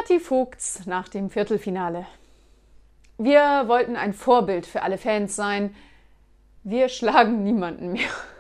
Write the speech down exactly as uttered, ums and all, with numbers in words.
Kathi Vogts nach dem Viertelfinale. Wir wollten ein Vorbild für alle Fans sein. Wir schlagen niemanden mehr.